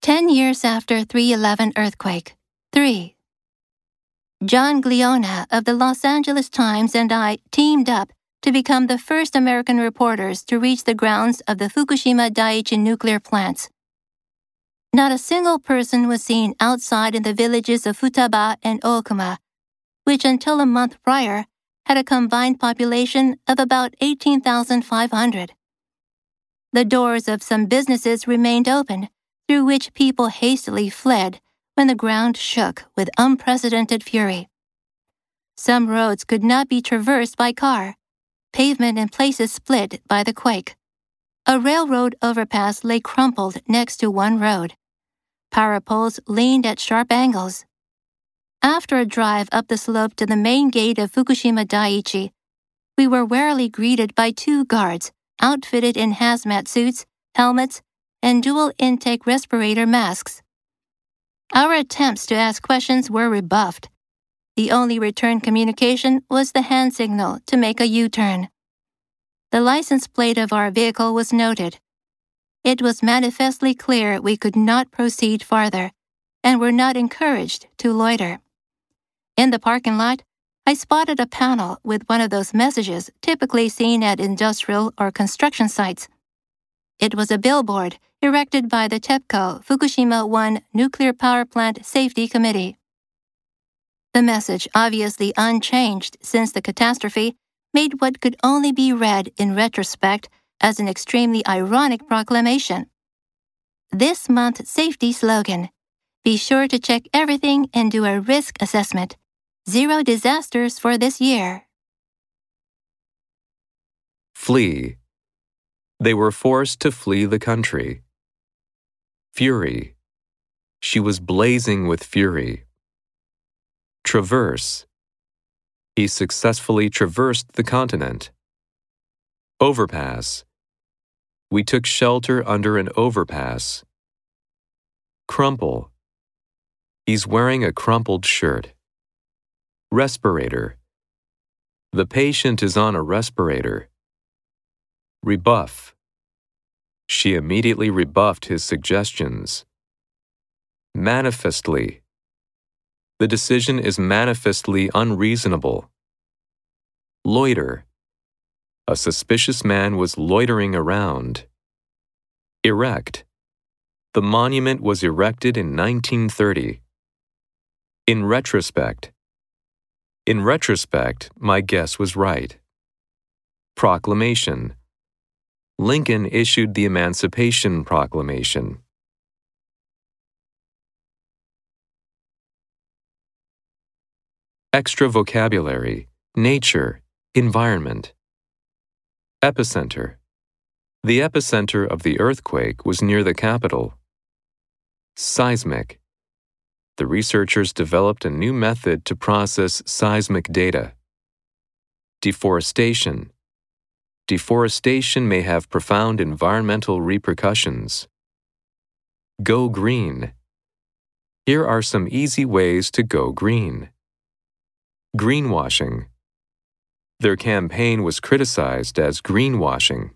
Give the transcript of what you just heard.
10 years after 3/11 earthquake. 3. John Gliona of the Los Angeles Times and I teamed up to become the first American reporters to reach the grounds of the Fukushima Daiichi nuclear plants. Not a single person was seen outside in the villages of Futaba and Okuma, which until a month prior had a combined population of about 18,500. The doors of some businesses remained open, through which people hastily fled when the ground shook with unprecedented fury. Some roads could not be traversed by car, pavement in places split by the quake. A railroad overpass lay crumpled next to one road. Power poles leaned at sharp angles. After a drive up the slope to the main gate of Fukushima Daiichi, we were warily greeted by 2 guards outfitted in hazmat suits, helmets, and dual intake respirator masks. Our attempts to ask questions were rebuffed. The only return communication was the hand signal to make a U-turn. The license plate of our vehicle was noted. It was manifestly clear we could not proceed farther, and were not encouraged to loiter. In the parking lot, I spotted a panel with one of those messages typically seen at industrial or construction sites. It was a billboard erected by the TEPCO Fukushima 1 Nuclear Power Plant Safety Committee. The message, obviously unchanged since the catastrophe, made what could only be read in retrospect as an extremely ironic proclamation. This month's safety slogan: be sure to check everything and do a risk assessment. 0 disasters for this year. Flee. They were forced to flee the country. Fury. She was blazing with fury. Traverse. He successfully traversed the continent. Overpass. We took shelter under an overpass. Crumple. He's wearing a crumpled shirt. Respirator. The patient is on a respirator. Rebuff. She immediately rebuffed his suggestions. Manifestly. The decision is manifestly unreasonable. Loiter. A suspicious man was loitering around. Erect. The monument was erected in 1930. In retrospect. In retrospect, my guess was right. Proclamation. Lincoln issued the Emancipation Proclamation. Extra vocabulary, nature, environment. Epicenter. The epicenter of the earthquake was near the capital. Seismic. The researchers developed a new method to process seismic data. Deforestation. Deforestation may have profound environmental repercussions. Go green. Here are some easy ways to go green. Greenwashing. Their campaign was criticized as greenwashing.